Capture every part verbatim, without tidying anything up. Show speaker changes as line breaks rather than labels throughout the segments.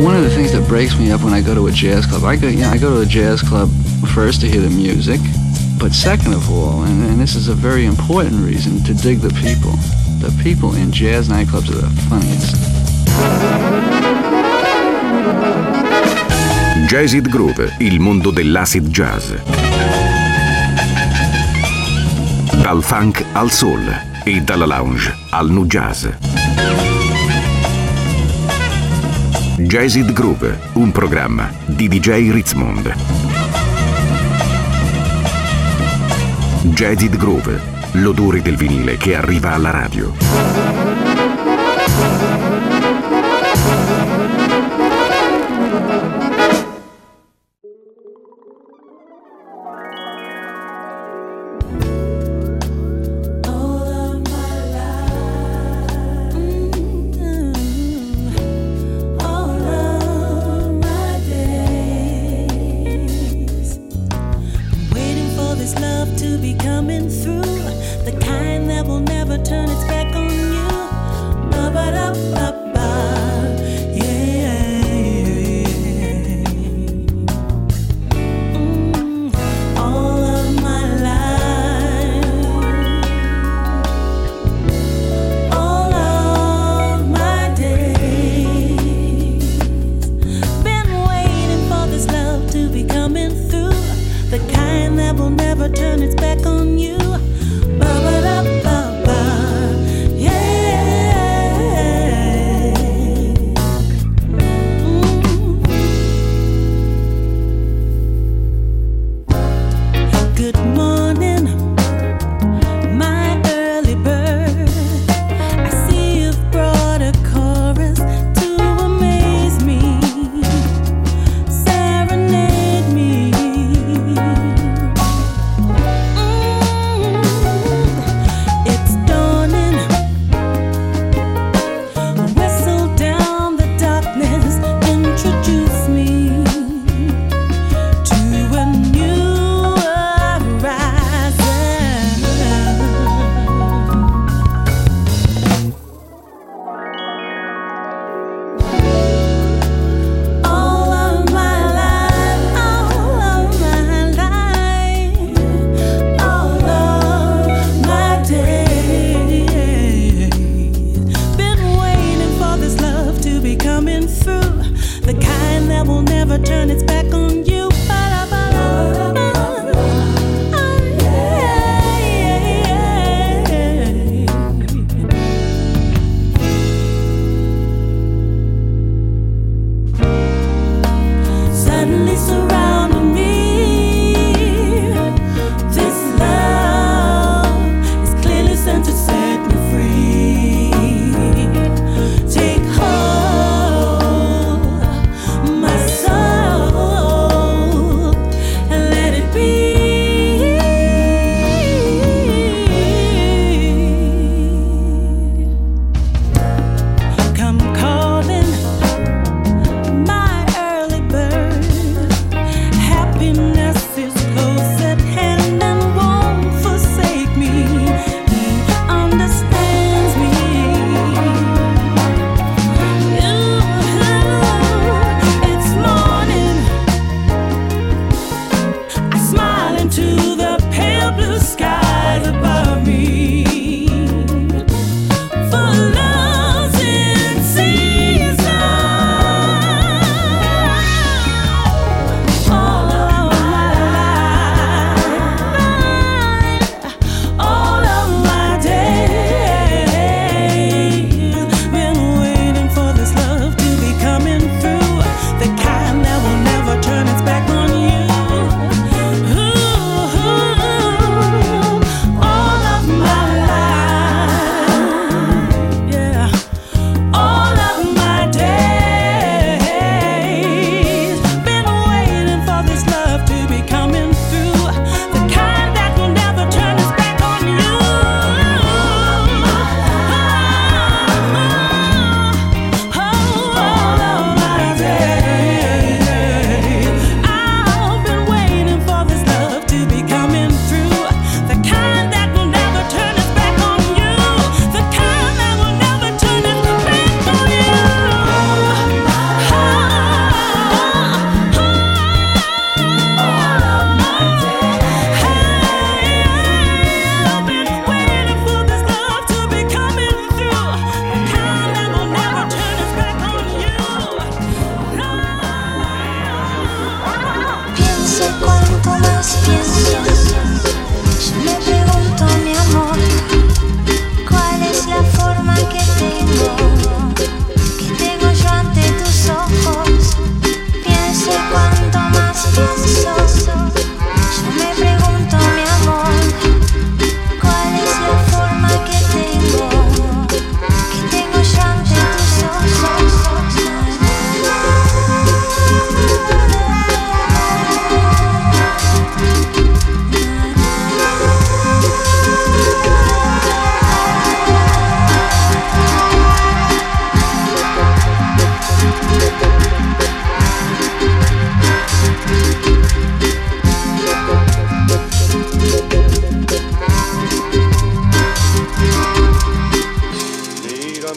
One of the things that breaks me up when I go to a jazz club, I go, you know, I go to a jazz club first to hear the music, but second of all, and, and this is a very important reason, to dig the people. The people in jazz nightclubs are the funniest.
Jazzid Groove, il mondo dell'acid jazz. Dal funk al soul e dalla lounge al nu jazz. Jazzid Groove, un programma di D J Ritzmond. Jazzid Groove, l'odore del vinile che arriva alla radio.
To be coming through, the kind that will never turn its back on you.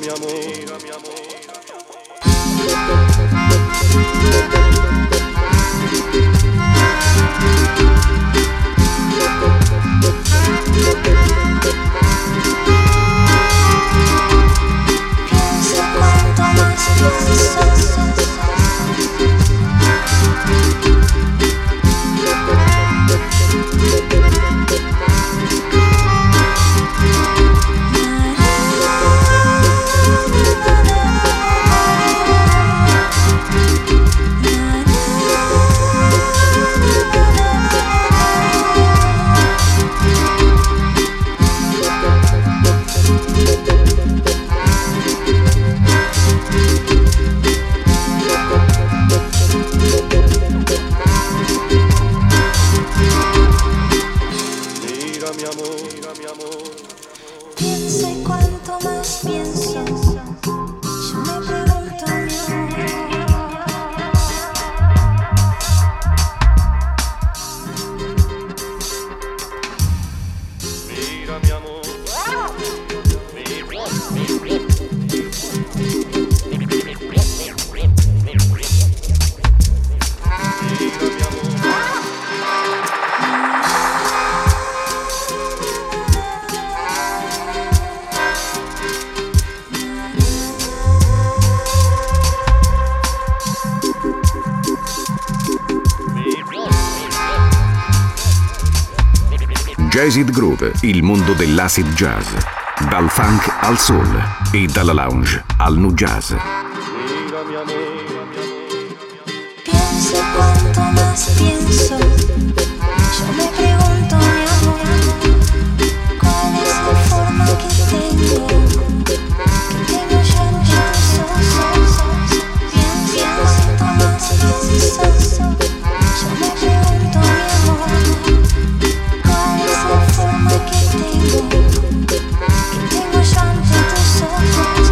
Jazzid Groove, il mondo dell'acid jazz. Dal funk al soul e dalla lounge al nu jazz.
Pienso cuanto más pienso, yo me pregunto, mi amor, ¿cuál es la forma que tengo? Que tengo yo en tus ojos. Pienso cuanto más pienso, yo me pregunto, mi amor, ¿cuál es la forma que tengo? Que tengo yo ante tus ojos.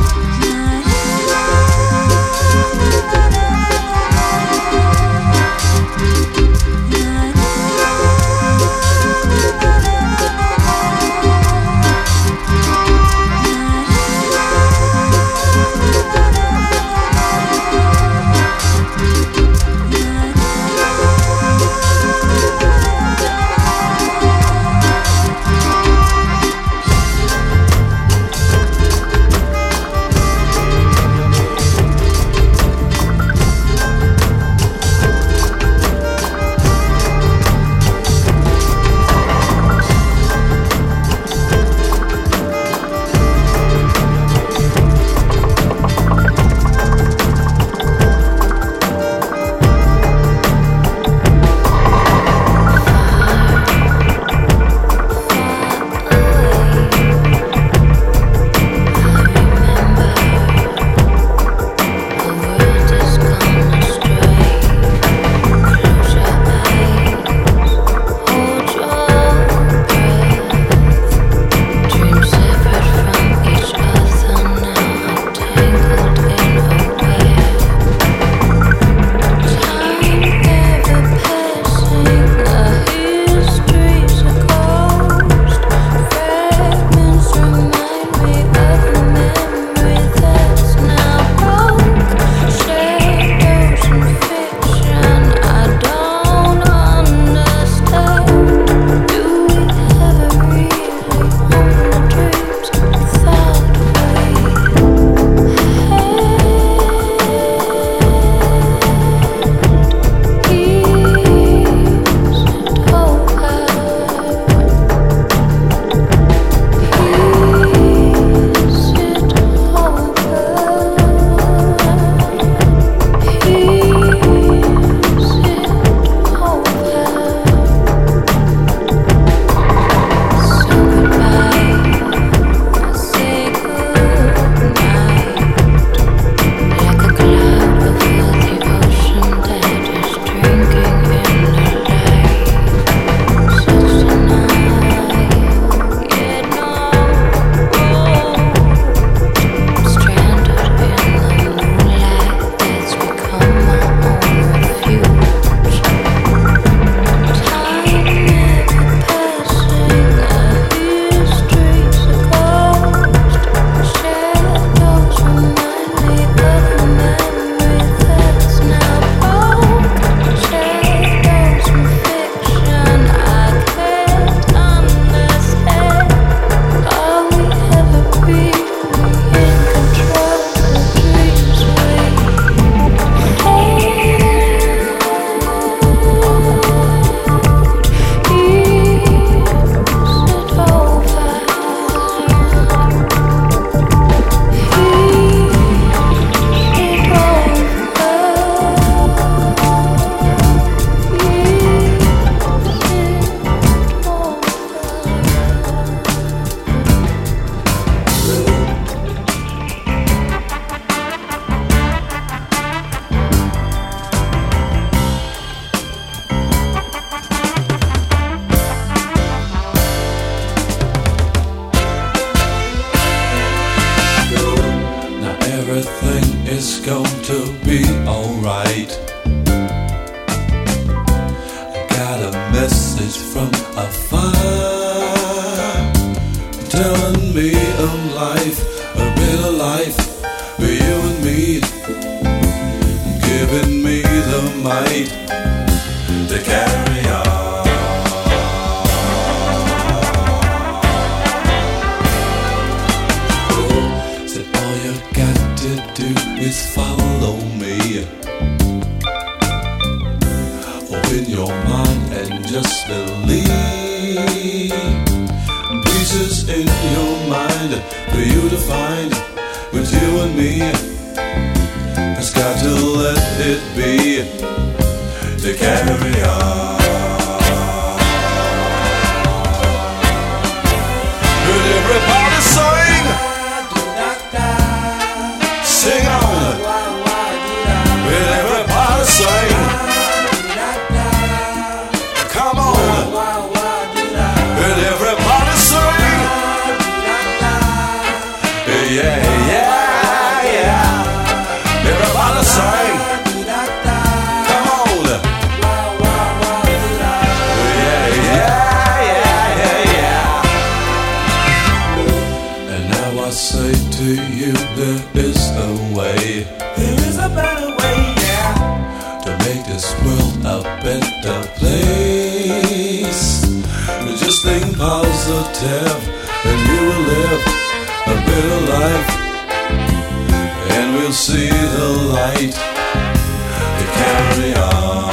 it's going to be alright. I got a message from afar, telling me of life, a better life for you and me, giving me the might to carry on. Is follow me, open your mind and just believe. Pieces in your mind for you to find with you and me. It's got to let it be to carry on. Could everybody sing? Sing on. Will everybody sing? Come on. Will everybody sing? Yeah, yeah, yeah. Everybody sing. Come on. Yeah, yeah, yeah, yeah, yeah. And now I say to you, there is a way. There is a better way, yeah, to make this world a better place. Just think positive and you will live a better life. And we'll see the light to carry on.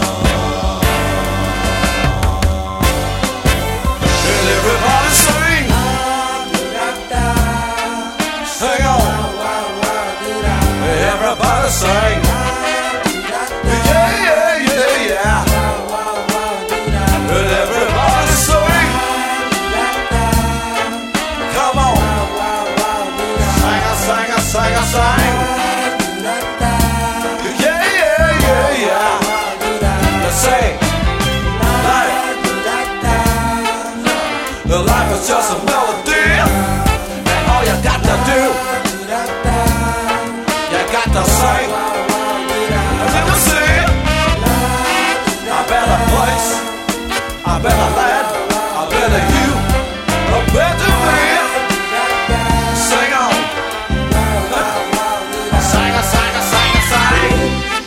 And everybody sing. Sing on. Everybody sing. Yeah, yeah, yeah, yeah. But everybody sing. Come on. Sing a, sing a, sing a, sing. Yeah, yeah, yeah, yeah. Let's sing. Life. The life is just a melody. And all you got to do, got to sing, and then you see a better place, a better land, a better you, a better man. Sing on. Sing, sing, sing, sing.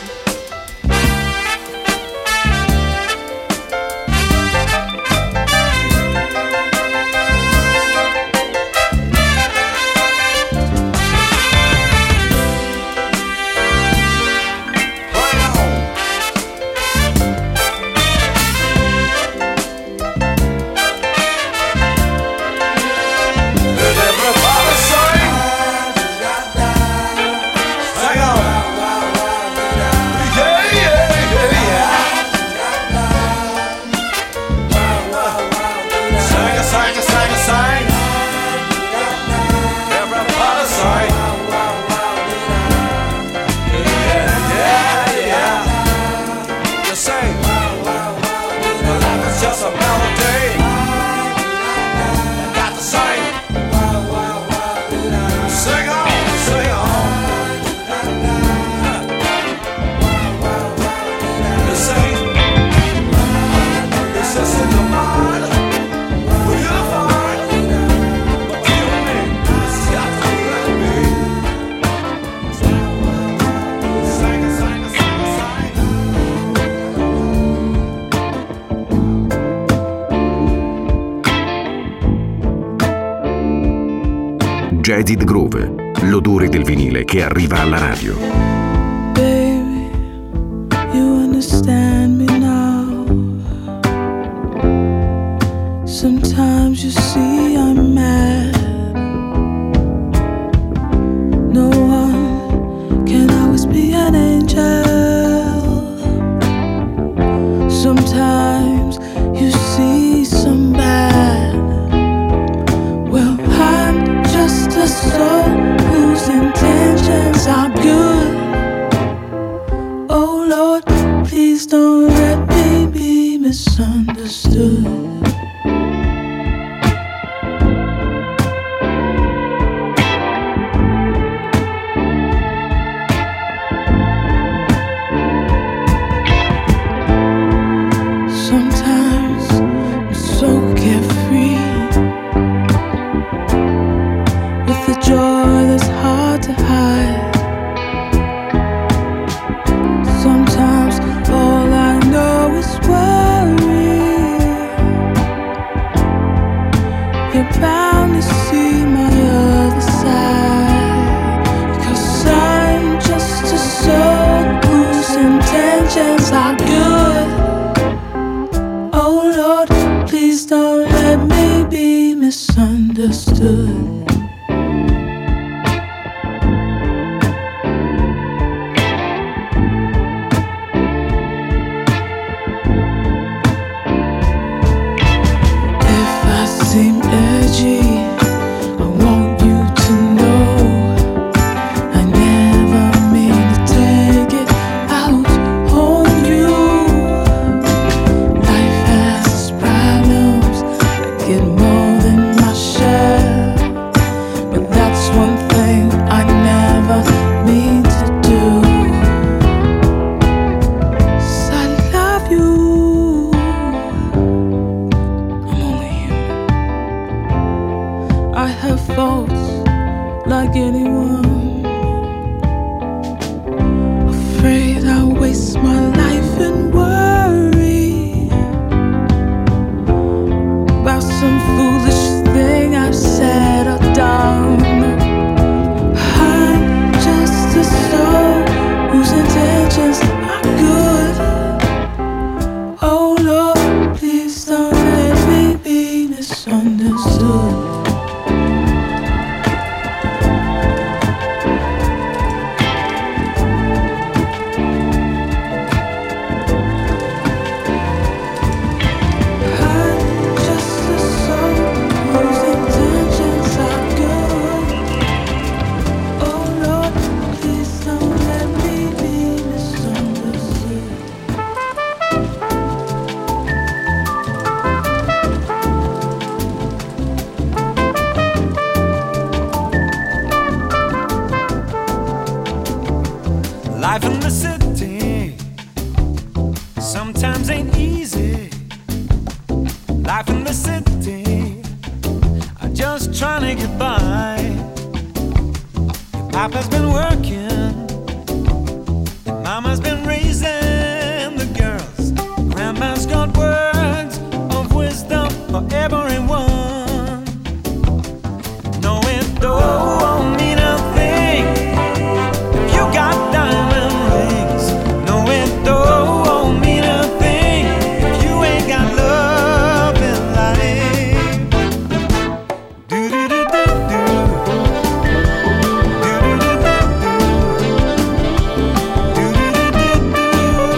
Jaded Groove, l'odore del vinile che arriva alla radio.
Baby, you understand me now. Sometimes you see I'm mad. No one can always be an angel. Sometimes you see some bad. Well, I'm just a soul whose intentions are good. Oh Lord, please don't let me be misunderstood. misunderstood. Seem edgy. I want you to know I never mean to take it out on you. Life has its problems, I get more than my share, but that's one thing I never mean to do. 'Cause I love you. I'm only human. I have faults like anyone. Afraid I'll waste my life in worry about some foolish thing I've said or done. I'm just a soul whose intentions are good. Oh Lord, please don't let me be misunderstood.
Life in the city sometimes ain't easy. Life in the city, I'm just trying to get by. Your papa's been working, your mama's been raising the girls. Grandma's got words of wisdom for everyone. No, it don't mean a thing if you got diamond rings. No, it don't mean a thing if you ain't got love in life. Do do do do do. Do do do do do. Do do do do do.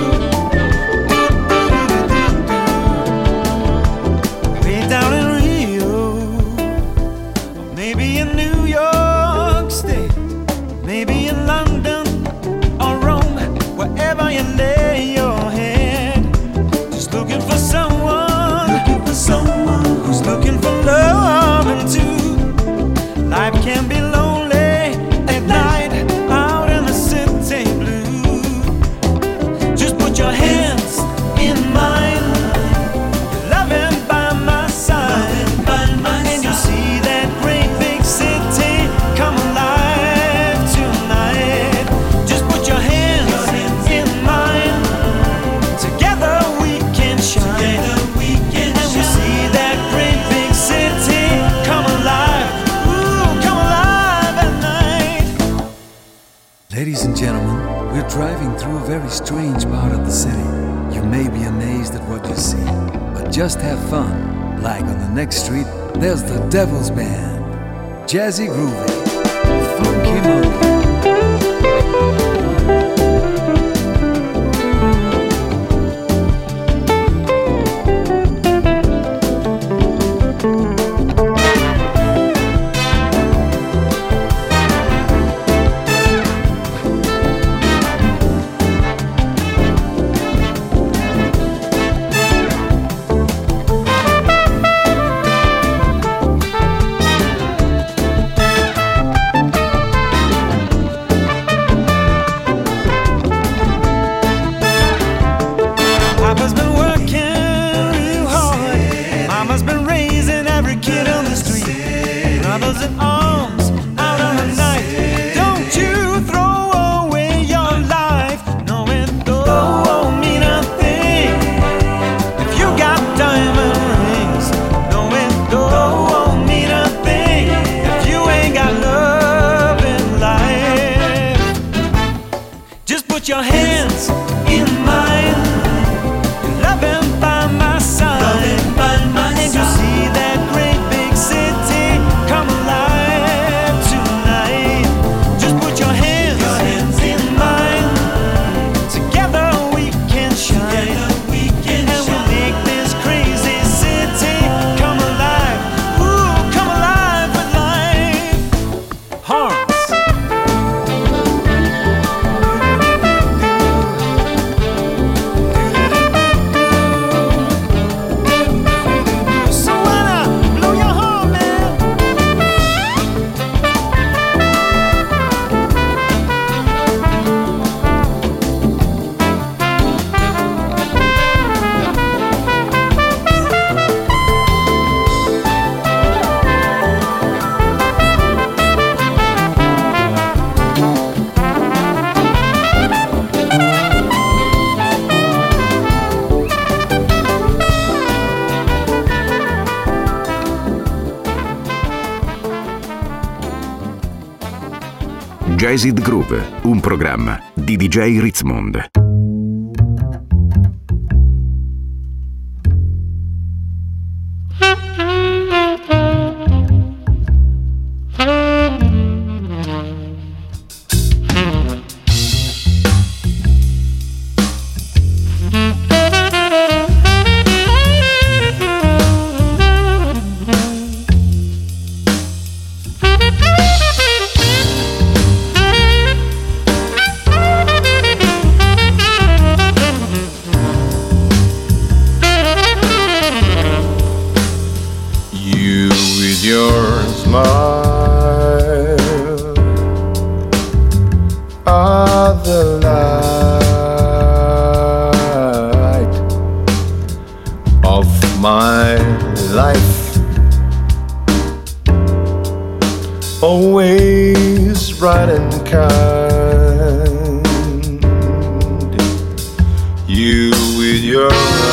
Way down in Rio, or maybe in New York State, maybe in London or Rome, wherever you lay your head, just looking for someone, looking for someone who's looking for loving too. Life can be lonely at night, out in the city blue. Just put your hands in mine, loving by my side, and you'll see that great big city come alive tonight. Just put your hands in mine, together we can shine, and we'll see that great big city come alive, ooh, come alive at night.
Ladies and gentlemen, we're driving through a very strange part of the city. You may be amazed at what you see, but just have fun. Like on the next street, there's the Devil's Band. Jazzy groovy, funky monkey.
Papa's been working real hard, mama's been raising every kid on the street. Brothers in arms out on the night. Don't you throw away your life. No, it don't mean a thing if you got diamond rings. No, it don't mean a thing if you ain't got love in life. Just put your hands in mine, loving by my side, and you'll see that great big city come
Jazzed Groove, un programma di D J Ritzmond.
Always right and kind. You with your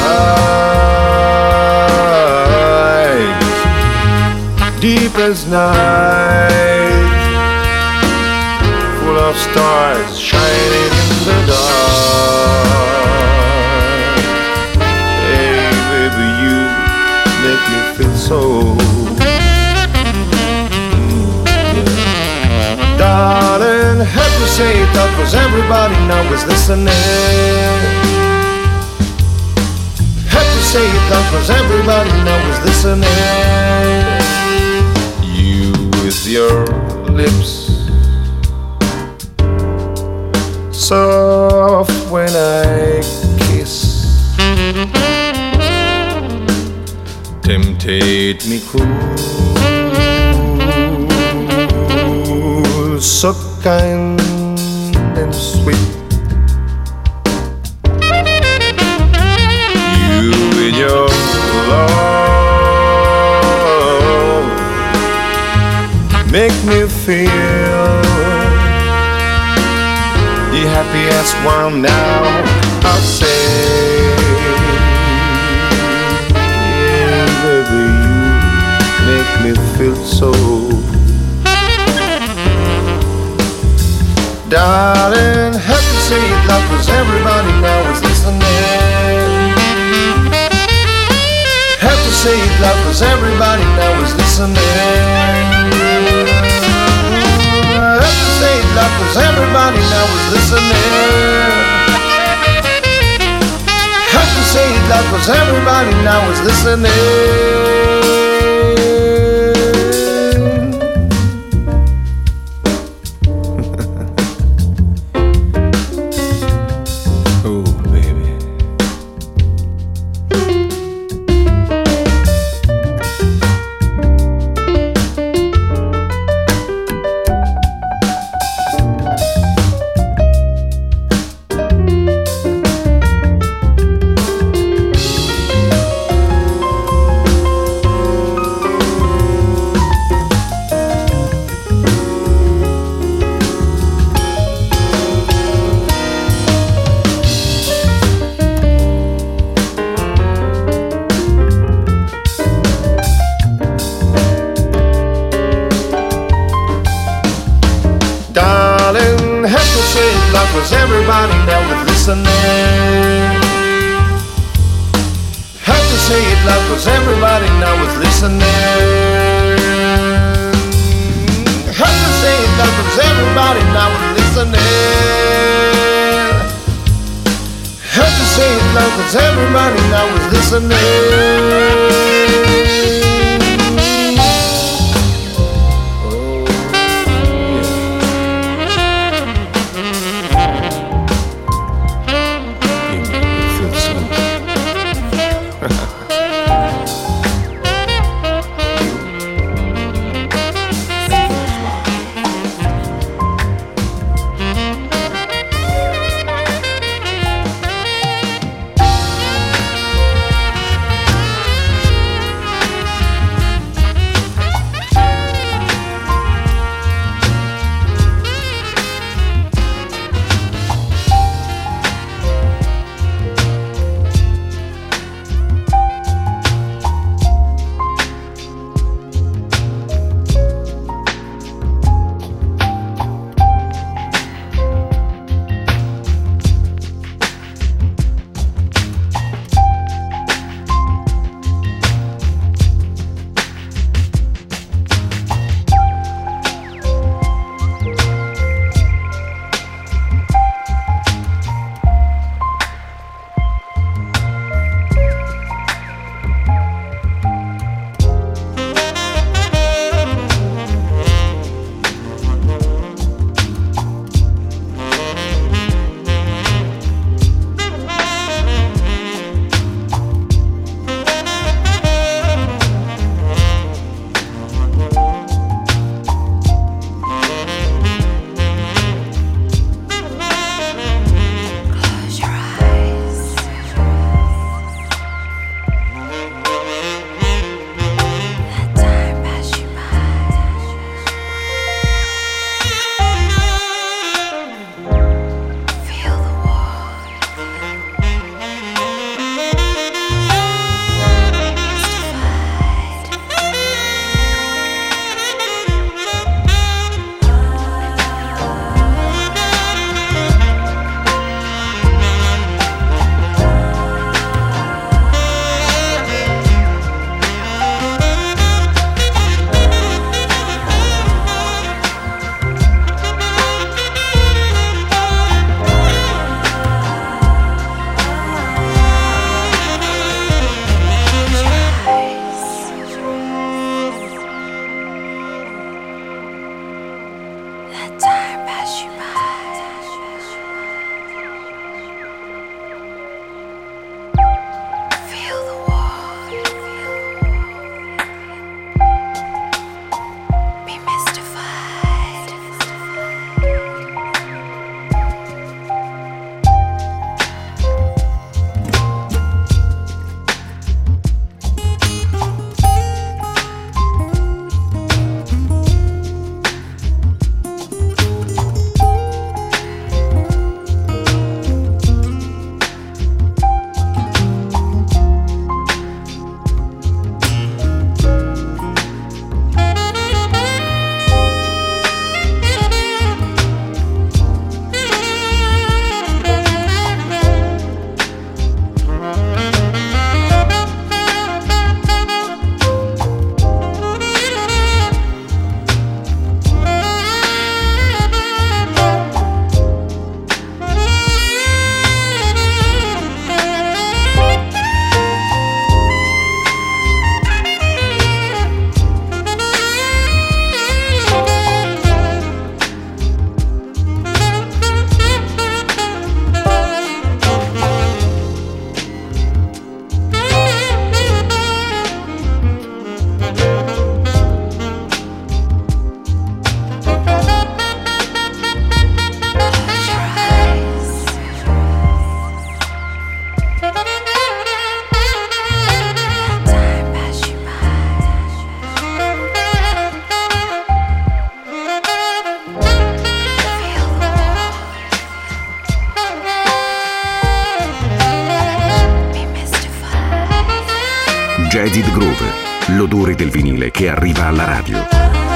eyes, deep as night, full of stars shining in the dark. Hey baby, you make me feel so. Darling, had to say it out 'cause everybody now is listening. Had to say it out 'cause everybody now is listening. You with your lips, soft when I kiss, temptate me cool, so kind and sweet. You with your love make me feel the happiest one now. I'll say, yeah, baby, you make me feel so. Darling, have to say it loud 'cause everybody now is listening. Have to say it loud 'cause everybody now is listening. Have to say it loud 'cause everybody now is listening. Have to say it loud 'cause everybody now is listening. Cause everybody now is listening. Have to say it loud cause everybody now is listening. Have to say it loud cause everybody now is listening. Have to say it loud cause everybody now is listening.
Jazz It Groove, l'odore del vinile che arriva alla radio.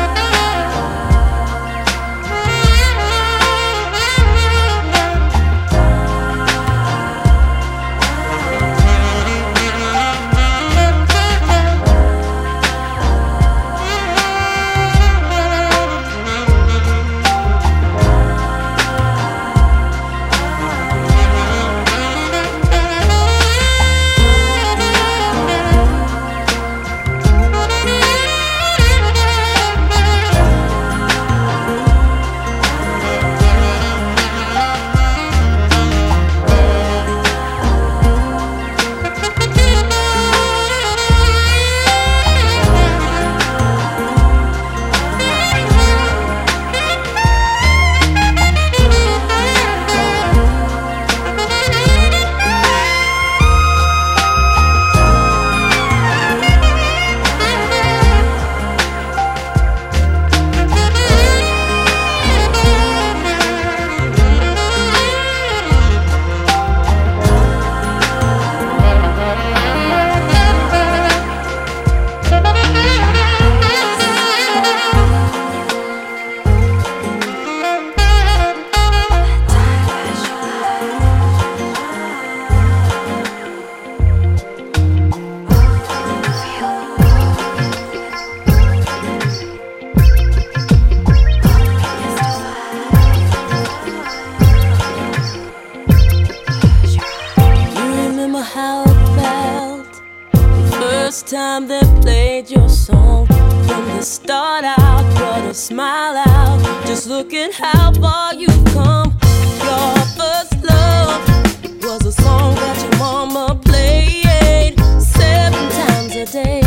Time they played your song from the start out, brought a smile out. Just look at how far you've come. Your first love was a song that your mama played seven times a day.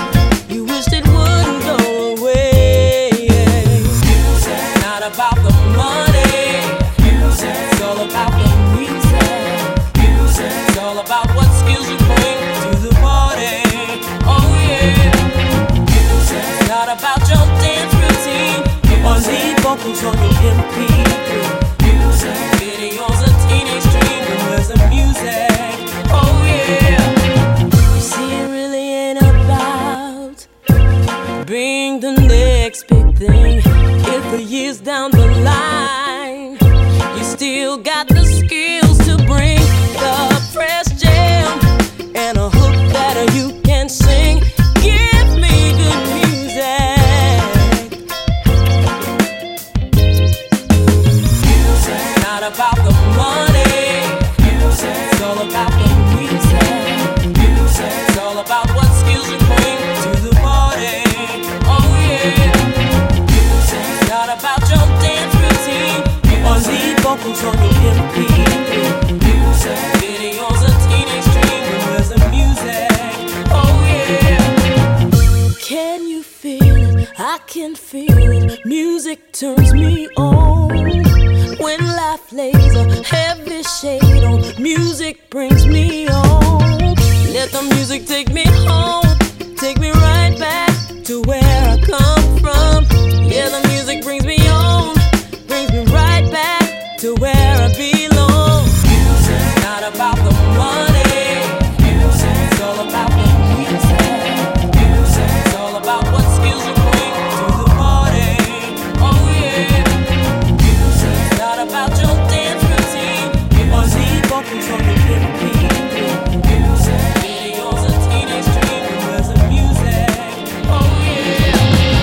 You wished it wouldn't go away. Music, not about the money. Music, it's all about the music. Music, it's all about what skills you bring to the party. About your dance routine or lead vocals on your M P three. Music, videos of teenage dream and where's the music? Oh yeah. You see, it really ain't about being the next big thing. If the years down the line you still got the skills to bring the fresh jam and a hook that you can sing. Give me good music. About the money, music. It's all about the music. Music. It's all about what skills you bring to the party. Oh yeah. Music. It's not about your dance routine or lead vocals on your M P three. Music. Videos of teenage dream and where's the music? Oh yeah. Can you feel it? I can feel it. Music turns me on. When life lays a heavy shade on, music brings me on. Let the music take me home, take me right back to where I come from. Yeah, the music brings me on, brings me right back to where I belong. Music, not about the money. Music, it's all about the music. Music, it's all about what skills you bring to the party. Oh yeah. About your dance routine or lead vocals on the M P three. Music, videos of teenage dream and where's the music? Oh yeah.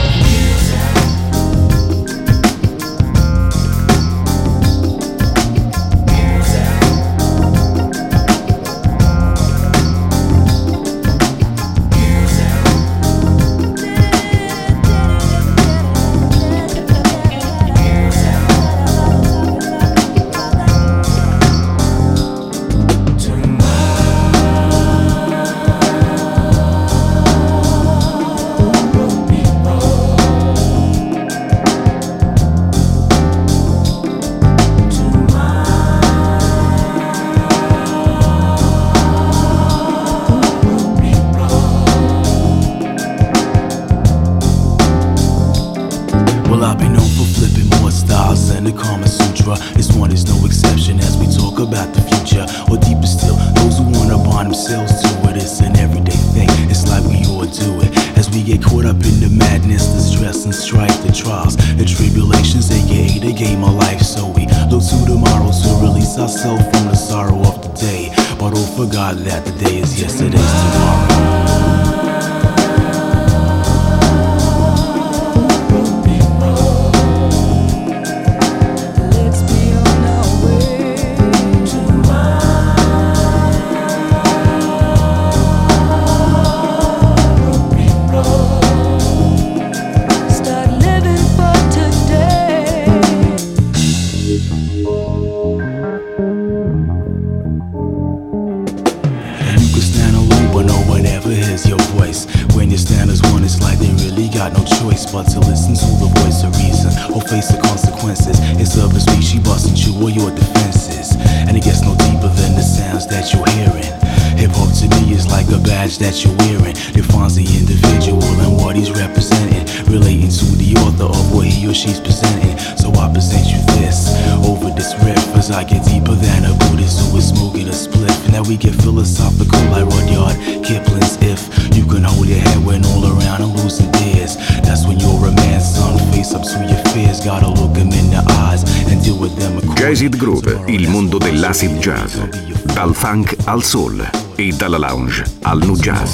About the future, or deeper still, those who wanna bond themselves to it. It's an everyday thing. It's like
God that the day is yesterday's tomorrow. But to listen to the voice of reason or face the consequences. It's of a speech, she busting you or your defenses. And it gets no deeper than the sounds that you're hearing. Hip-hop to me is like a badge that you're wearing. Defines the individual and what he's representing, relating to the author of what he or she's presenting. So I present you this over this riff as I get deeper than a Buddhist who is smoking a spliff. And now we get philosophical like Rudyard Kipling's If you can hold your head when all around and losing dares. That's when you're a man, son, face up to your fears. Gotta look them in the eyes and deal with them.
Jazzed Groove, il mondo dell'acid jazz. Dal funk al soul e dalla lounge al nu jazz.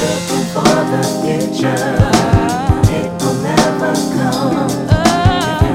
It will never come.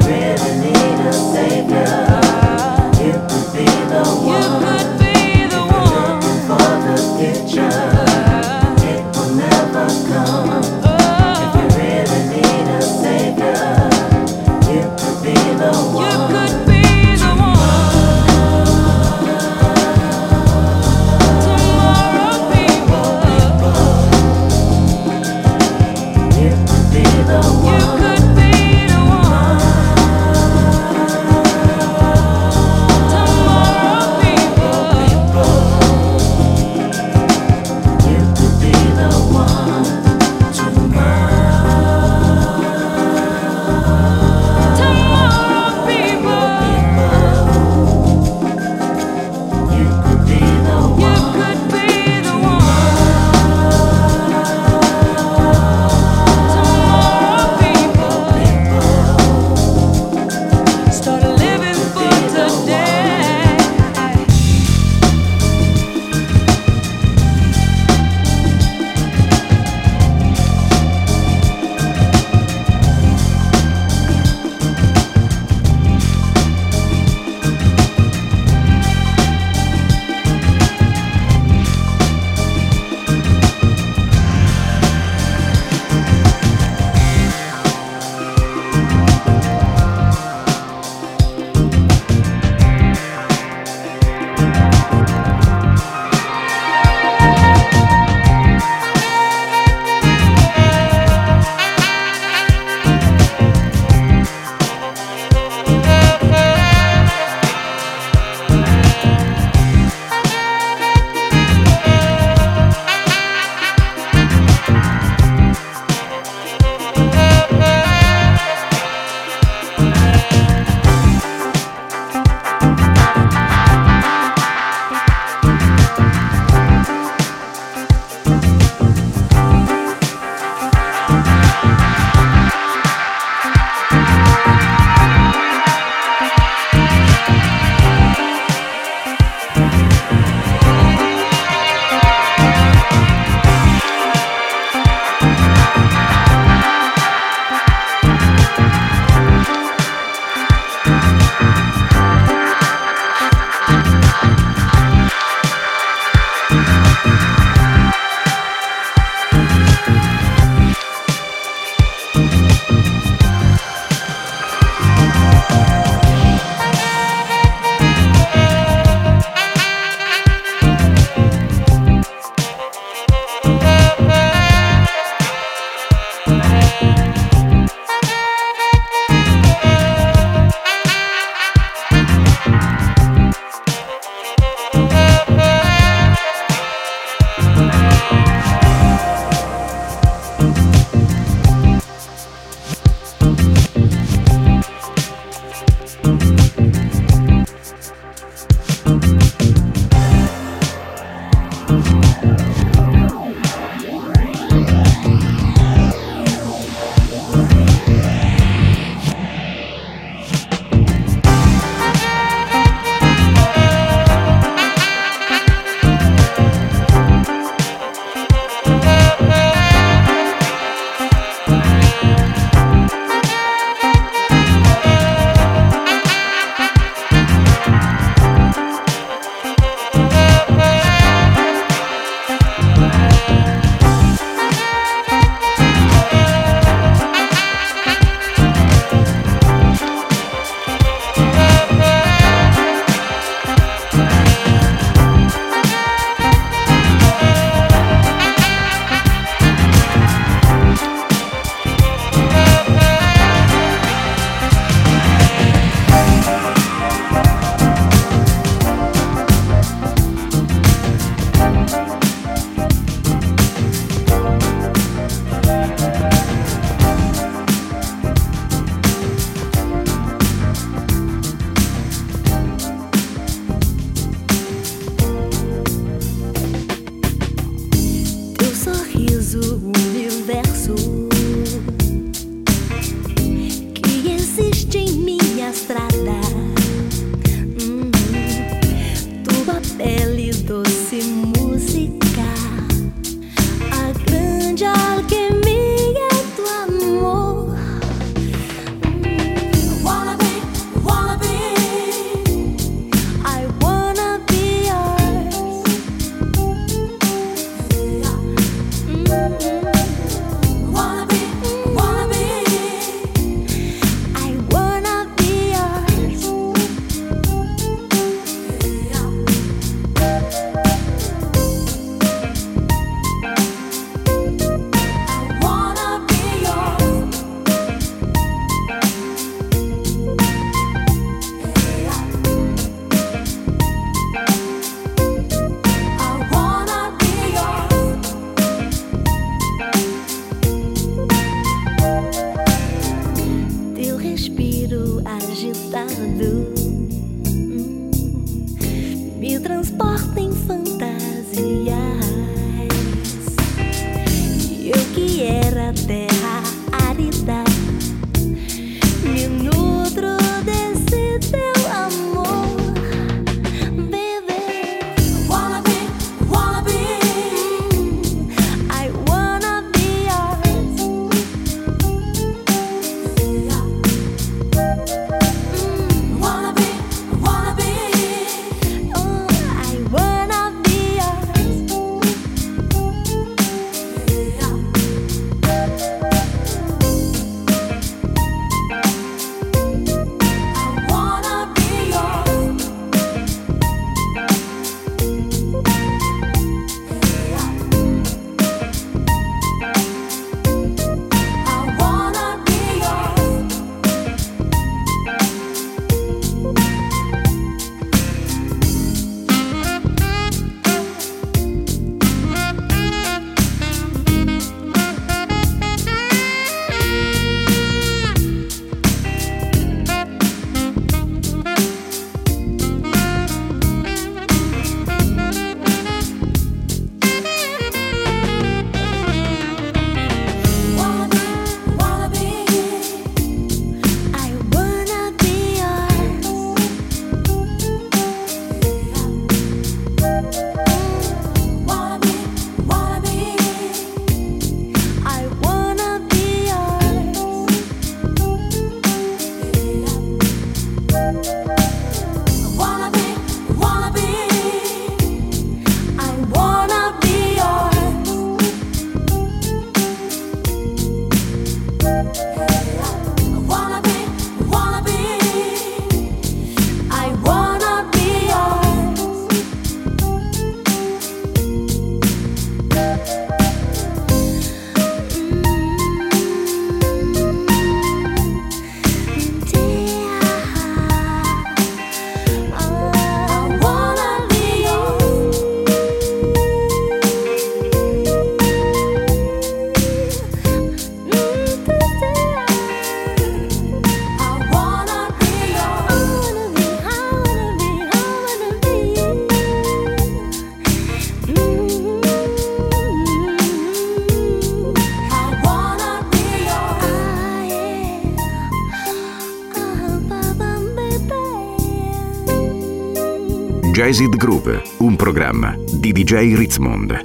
Jazzed Groove, un programma di D J Ritzmond.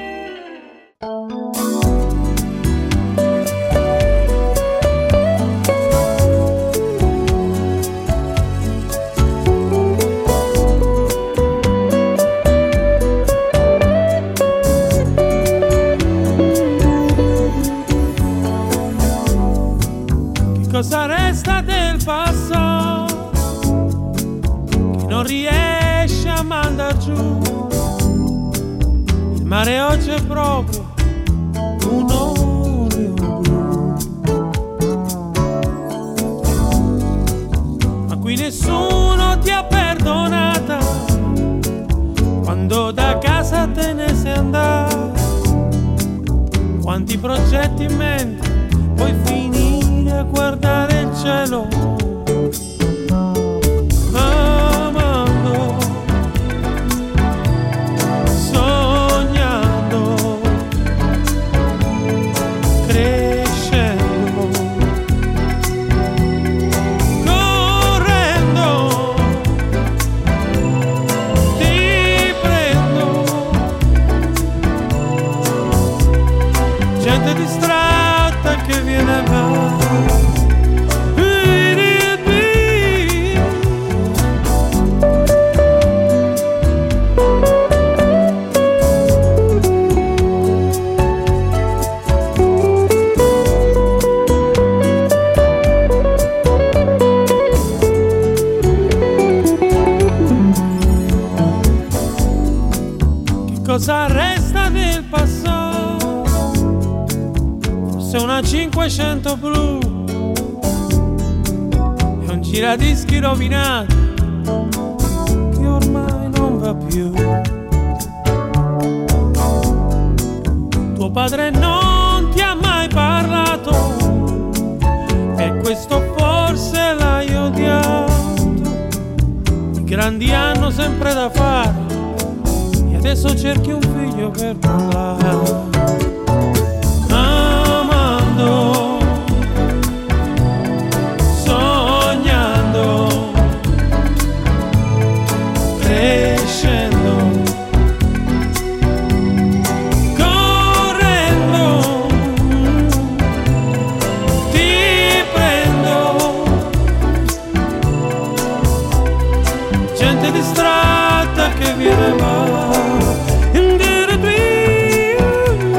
Cosa resta del passato che non riesce a mandar giù? Il mare oggi è proprio un olio blu, ma qui nessuno ti ha perdonata quando da casa te ne sei andato. Quanti progetti in mente puoi finire a guardare il cielo, amando, sognando, crescendo, correndo, ti prendo, gente distratta che viene a cosa resta del passato? Forse una cinquecento blu e un giradischi rovinato che ormai non va più. Tuo padre non ti ha mai parlato, per questo forse l'hai odiato. I grandi hanno sempre da fare, adesso cerchi un figlio per parlare, amando, sognando, crescendo, correndo, ti prendo, gente distratta che viene va.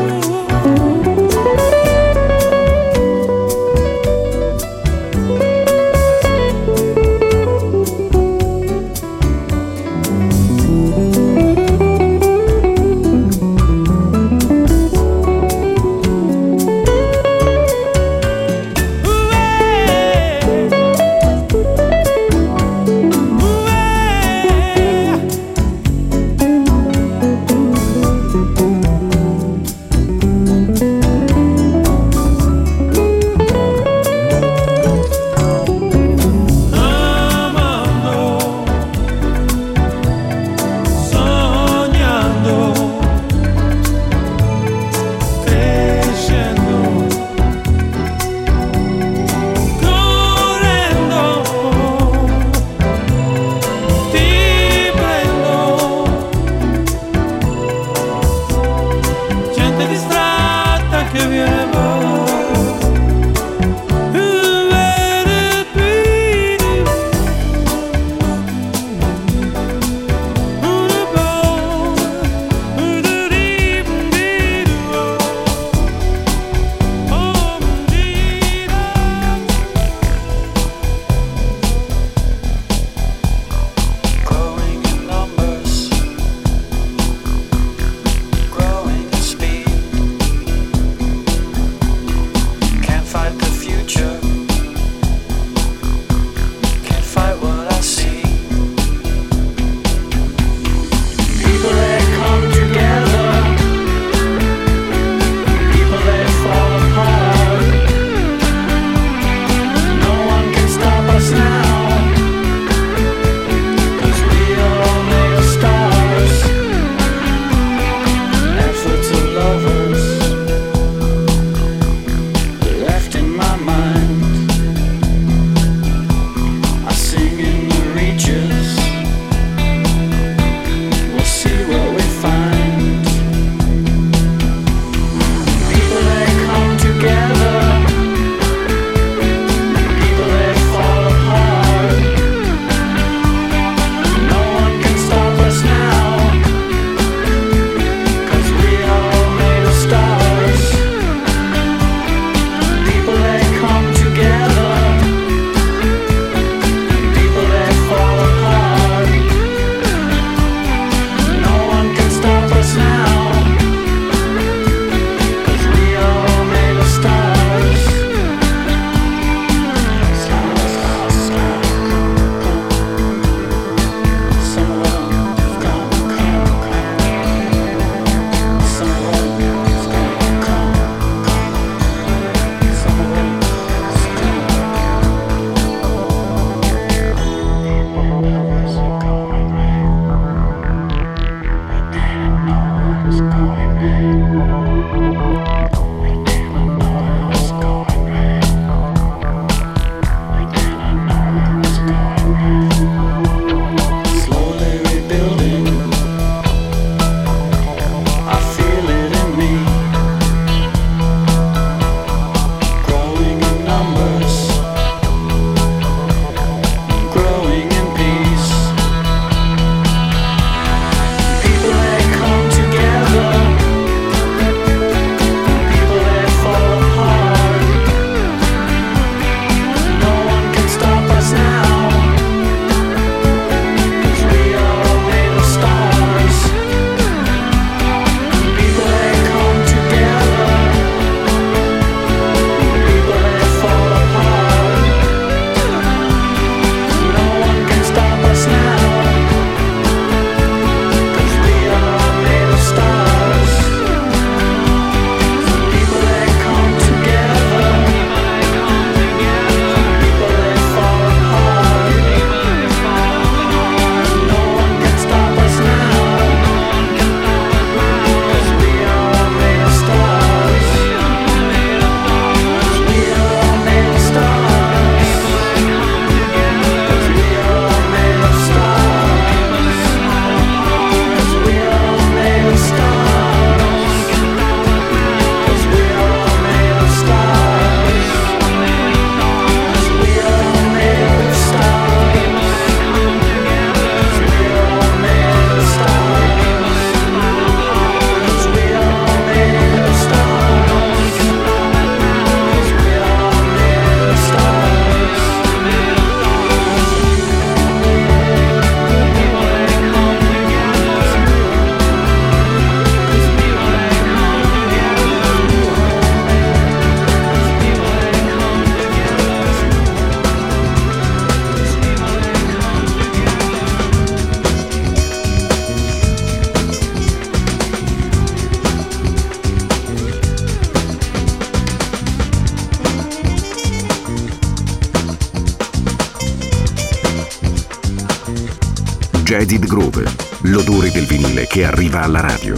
Jaded Groove, l'odore del vinile che arriva alla radio.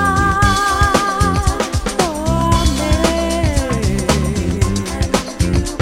Find the time for me.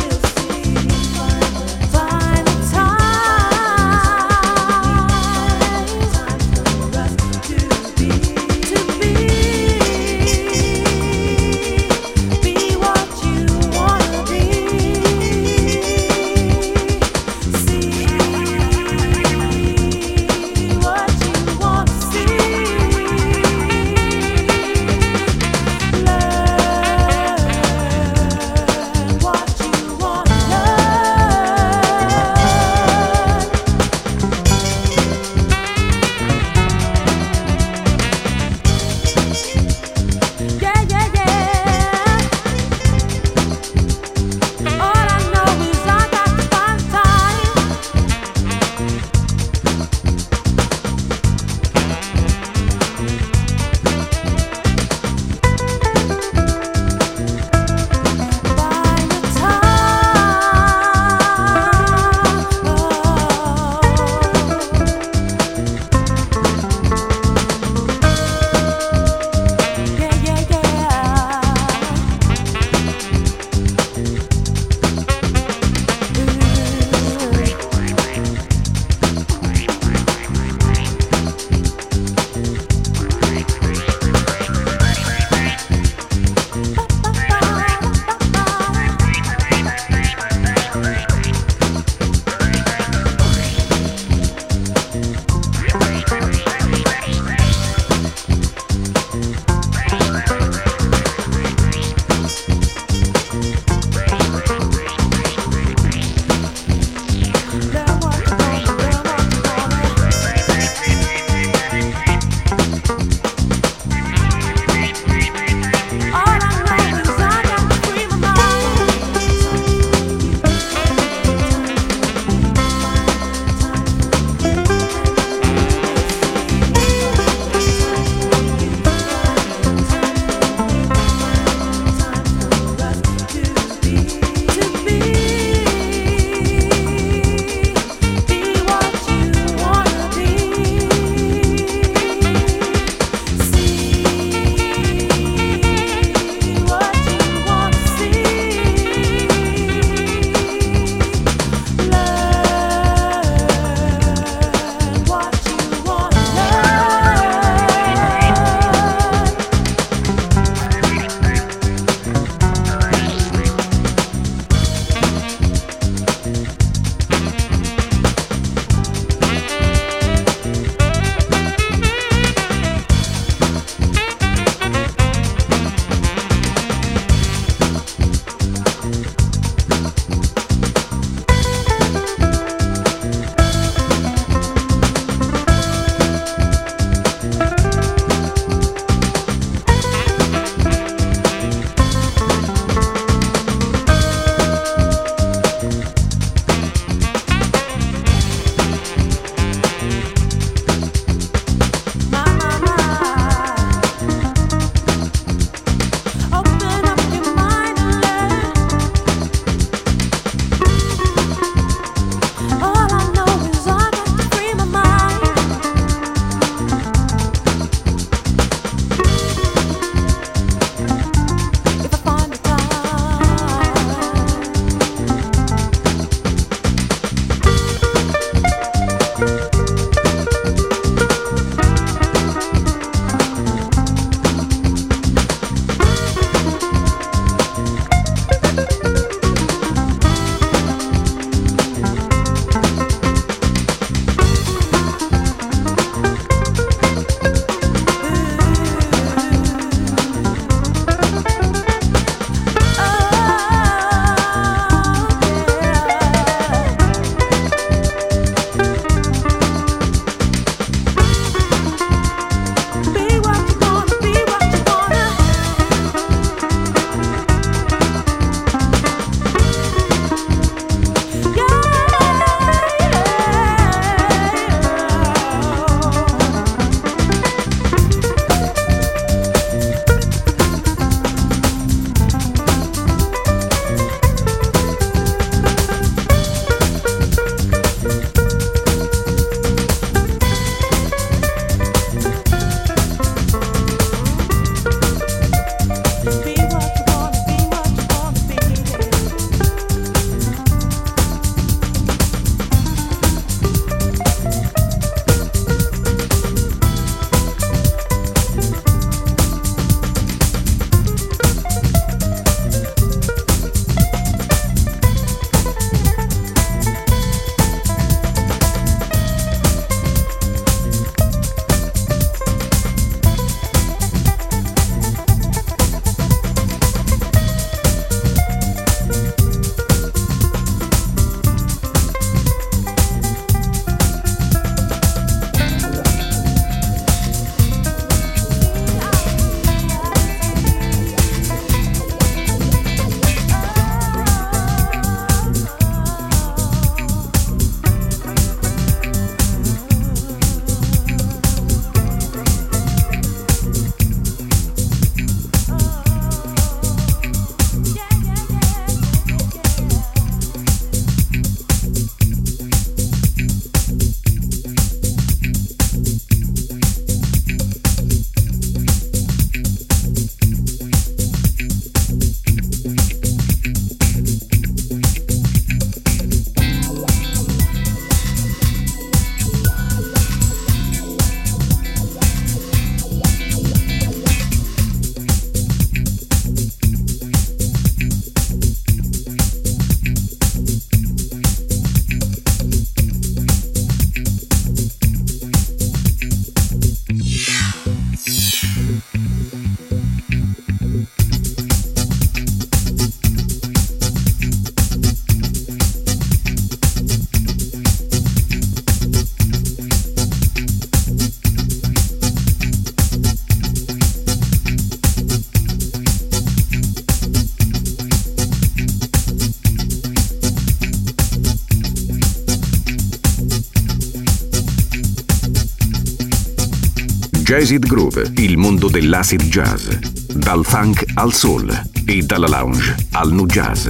Jazzed Groove, il mondo dell'acid jazz. Dal funk al soul e dalla lounge al nu jazz.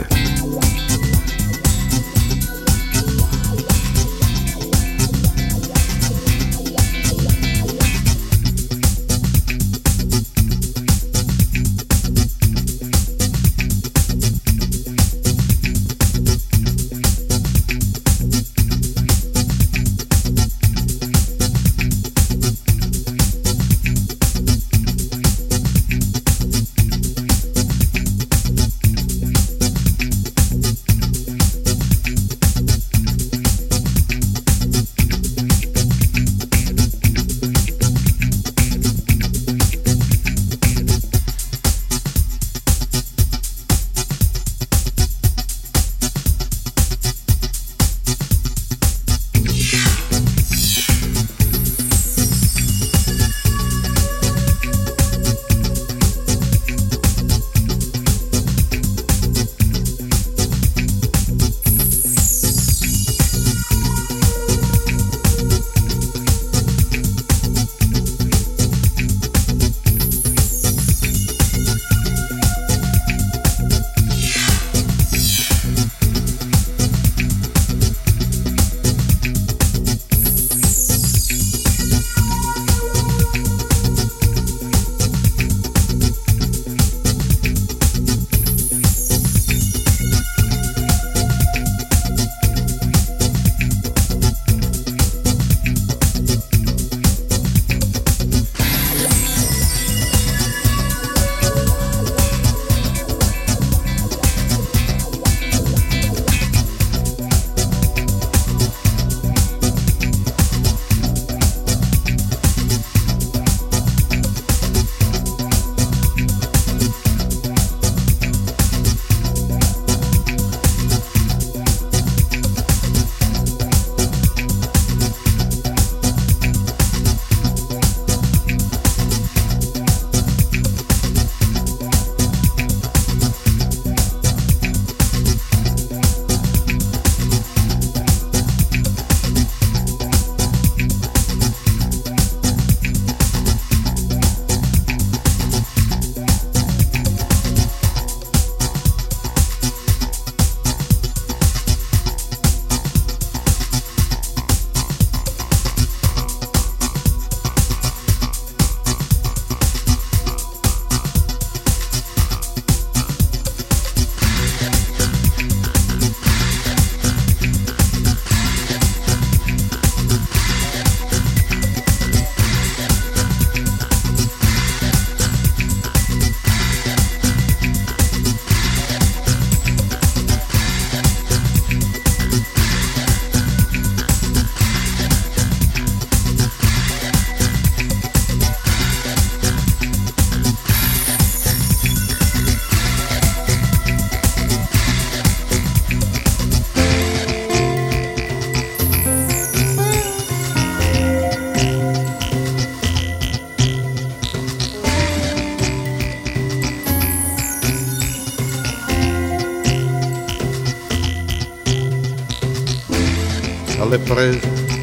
alle prese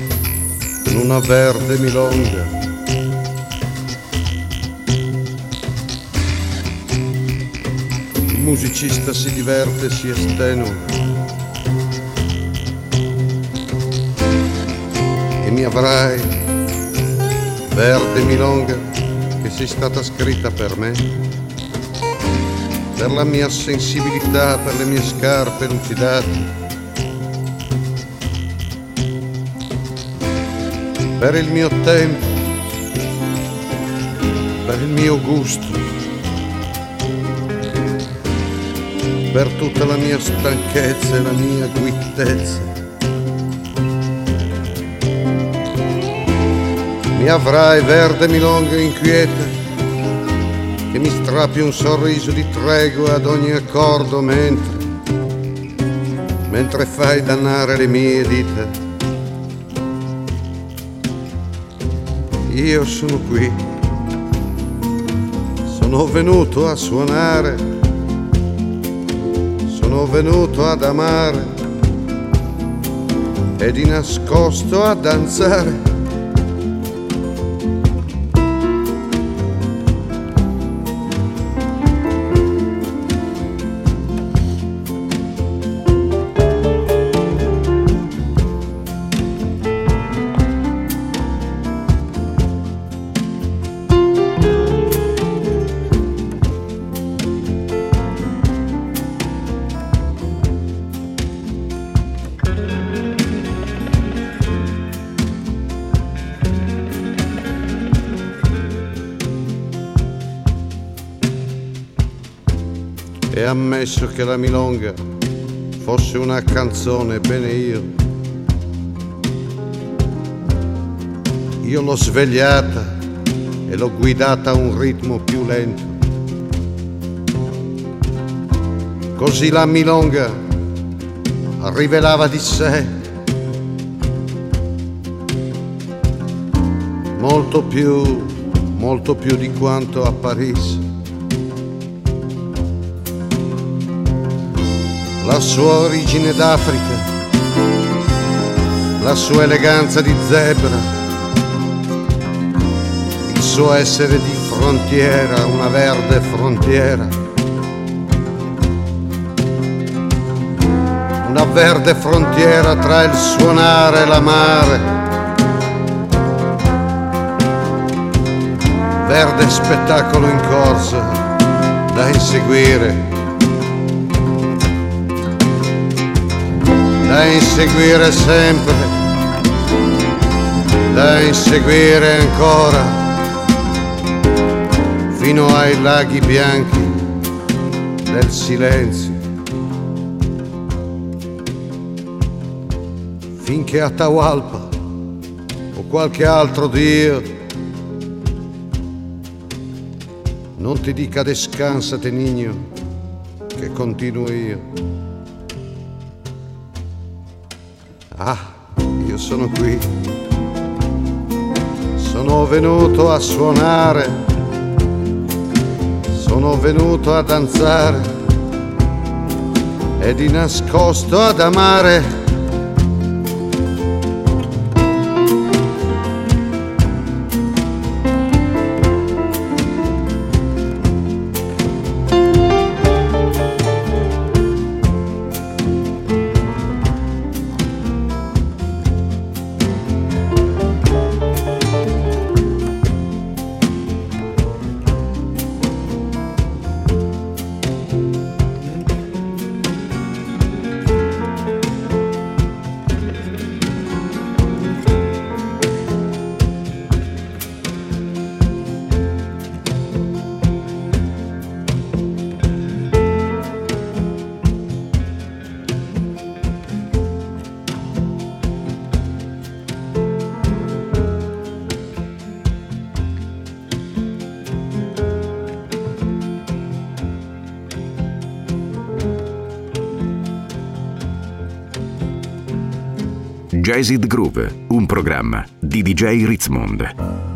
in una verde milonga. Il musicista si diverte, si estenua e mi avrai, verde milonga, che sei stata scritta per me, per la mia sensibilità, per le mie scarpe lucidate, per il mio tempo, per il mio gusto, per tutta la mia stanchezza e la mia guittezza. Mi avrai, verde milonga inquieta, che mi strappi un sorriso di tregua ad ogni accordo mentre, mentre fai dannare le mie dita. Io sono qui, sono venuto a suonare, sono venuto ad amare e di nascosto a danzare. e ammesso che la milonga fosse una canzone, bene io, io l'ho svegliata e l'ho guidata a un ritmo più lento. Così la milonga rivelava di sé molto più, molto più di quanto apparisse. La sua origine d'Africa, la sua eleganza di zebra, il suo essere di frontiera, una verde frontiera, una verde frontiera tra il suonare e l'amare, verde spettacolo in corsa da inseguire, da inseguire sempre, da inseguire ancora, fino ai laghi bianchi del silenzio, finché Atahualpa o qualche altro Dio non ti dica descansate niño, che continuo io. Ah, io sono qui, sono venuto a suonare, sono venuto a danzare e di nascosto ad amare.
Jazzed Groove, un programma di D J Ritzmond.